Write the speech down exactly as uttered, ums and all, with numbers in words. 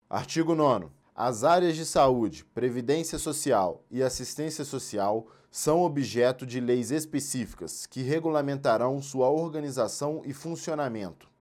Artigo nono. As áreas de saúde, previdência social e assistência social são objeto de leis específicas que regulamentarão sua organização e funcionamento.